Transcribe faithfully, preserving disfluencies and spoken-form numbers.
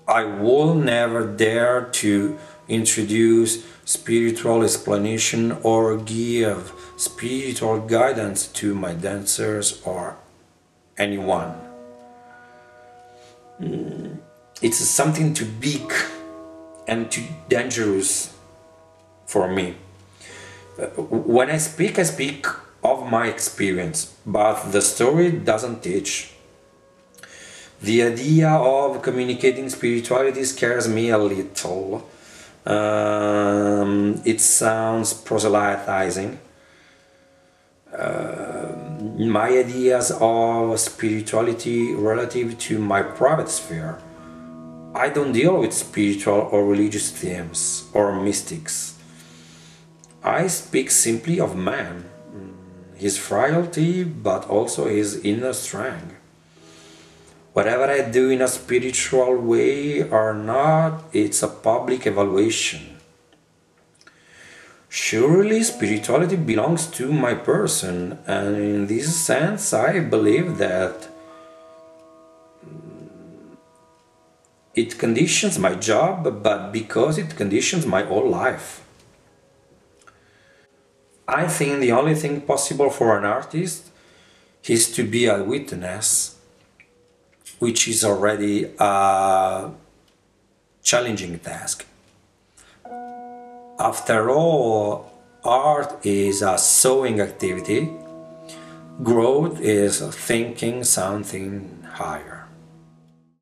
I will never dare to introduce spiritual explanation or give spiritual guidance to my dancers or anyone. It's something too big and too dangerous for me. When I speak, I speak of my experience, but the story doesn't teach. The idea of communicating spirituality scares me a little. Um, it sounds proselytizing. Uh, my ideas of spirituality relative to my private sphere. I don't deal with spiritual or religious themes or mystics. I speak simply of man, his frailty, but also his inner strength. Whatever I do in a spiritual way or not, it's a public evaluation. Surely spirituality belongs to my person, and in this sense I believe that it conditions my job, but because it conditions my whole life. I think the only thing possible for an artist is to be a witness, which is already a challenging task. After all, art is a sewing activity. Growth is thinking something higher.